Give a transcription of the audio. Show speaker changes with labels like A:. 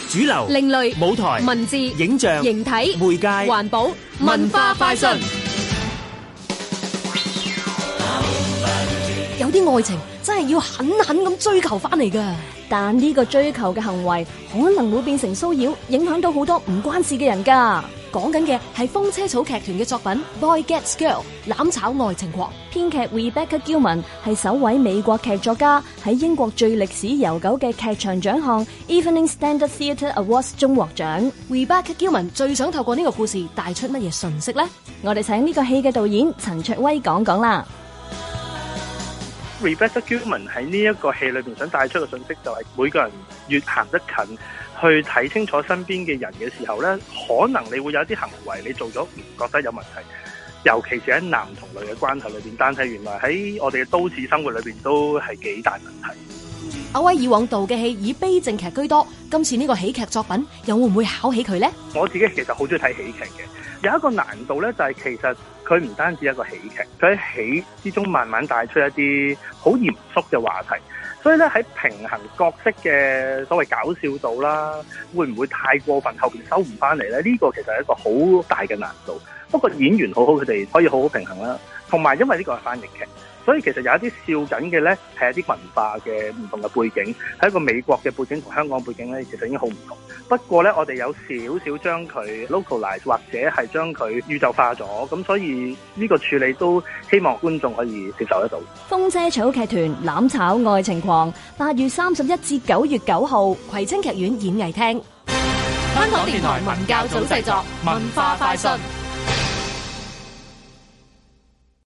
A: 主流、
B: 另類、
A: 舞台、
B: 文字、
A: 影像、
B: 形體、
A: 媒介、
B: 環保、文化快訊。有啲愛情真係要狠狠咁追求翻嚟㗎，但呢個追求嘅行為可能會變成騷擾，影響到好多唔關事嘅人㗎。講緊嘅係風車草劇團嘅作品《Boy Gets Girl》攬炒愛情狂。編劇 Rebecca Gilman 係首位美國劇作家，喺英國最歷史悠久嘅劇場獎項 Evening Standard Theatre Awards 中獲獎。Rebecca Gilman 最想透過呢個故事帶出乜嘢訊息呢？我哋請呢個戲嘅導演陳卓威講講啦。
C: Rebecca Gilman 喺呢一個戲裏邊想帶出嘅信息就係每個人越行得近，去睇清楚身邊嘅人嘅時候呢，可能你會有啲行為你做咗唔覺得有問題，尤其是喺男同女嘅關係裏邊，但係原來喺我哋嘅都市生活裏邊都係幾大問題。
B: 阿威以往導嘅戲以悲症劇居多，今次呢個喜劇作品又會唔會考起佢呢？
C: 我自己其實好中意睇喜劇嘅，有一個難度呢，就係其實佢唔單止一個喜劇，佢喺喜之中慢慢帶出一啲好嚴肅嘅話題，所以咧喺平衡角色嘅所謂搞笑度啦，會唔會太過分後邊收唔翻嚟咧？呢個其實係一個好大嘅難度。不過演員好好，佢哋可以好好平衡啦。同埋因為呢個係翻譯劇，所以其實有一啲笑緊嘅咧係一啲文化嘅唔同嘅背景，係一個美國嘅背景同香港背景咧，其實已經好唔同。不過咧，我哋有少少將佢 localize 或者係將佢宇宙化咗，咁所以呢個處理都希望觀眾可以接受得到。
B: 風車草劇團攬炒愛情狂，8月31至9月9號，葵青劇院演藝廳。香港電台文教組製作，文化快訊。